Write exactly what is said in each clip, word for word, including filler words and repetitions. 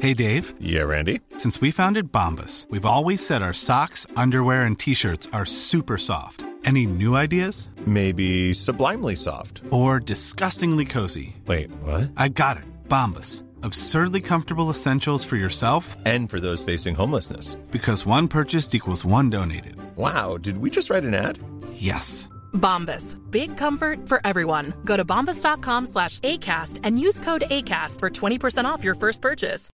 Hey, Dave. Yeah, Randy. Since we founded Bombas, we've always said our socks, underwear, and T-shirts are super soft. Any new ideas? Maybe sublimely soft. Or disgustingly cozy. Wait, what? I got it. Bombas. Absurdly comfortable essentials for yourself and for those facing homelessness. Because one purchased equals one donated. Wow, did we just write an ad? Yes. Bombas. Big comfort for everyone. Go to bombas.com slash ACAST and use code ACAST for twenty percent off your first purchase.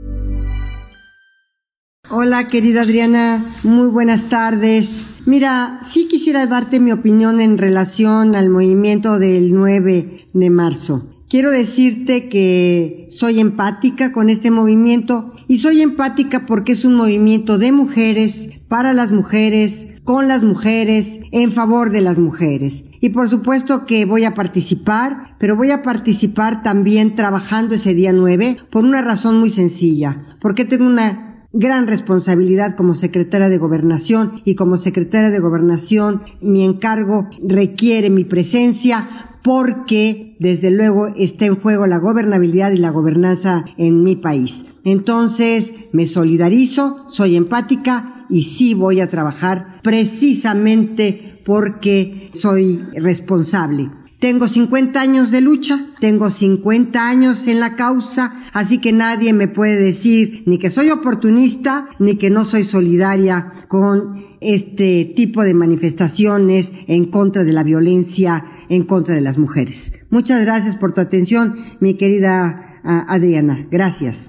Hola, querida Adriana, muy buenas tardes. Mira, sí quisiera darte mi opinión en relación al movimiento del nueve de marzo. Quiero decirte que soy empática con este movimiento y soy empática porque es un movimiento de mujeres, para las mujeres, con las mujeres, en favor de las mujeres. Y por supuesto que voy a participar, pero voy a participar también trabajando ese día nueve por una razón muy sencilla, porque tengo una gran responsabilidad como secretaria de Gobernación y como secretaria de Gobernación mi encargo requiere mi presencia porque desde luego está en juego la gobernabilidad y la gobernanza en mi país. Entonces me solidarizo, soy empática y sí voy a trabajar precisamente porque soy responsable. Tengo cincuenta años de lucha, tengo cincuenta años en la causa, así que nadie me puede decir ni que soy oportunista, ni que no soy solidaria con este tipo de manifestaciones en contra de la violencia, en contra de las mujeres. Muchas gracias por tu atención, mi querida uh, Adriana. Gracias.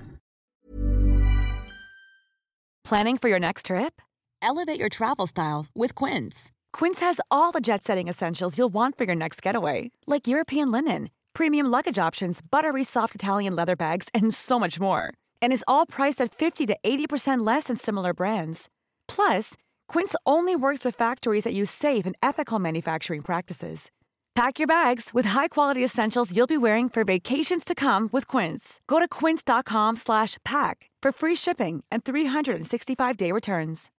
Planning for your next trip? Elevate your travel style with Quince. Quince has all the jet-setting essentials you'll want for your next getaway, like European linen, premium luggage options, buttery soft Italian leather bags, and so much more. And is all priced at fifty to eighty percent less than similar brands. Plus, Quince only works with factories that use safe and ethical manufacturing practices. Pack your bags with high-quality essentials you'll be wearing for vacations to come with Quince. Go to quince.com slash pack for free shipping and three sixty-five day returns.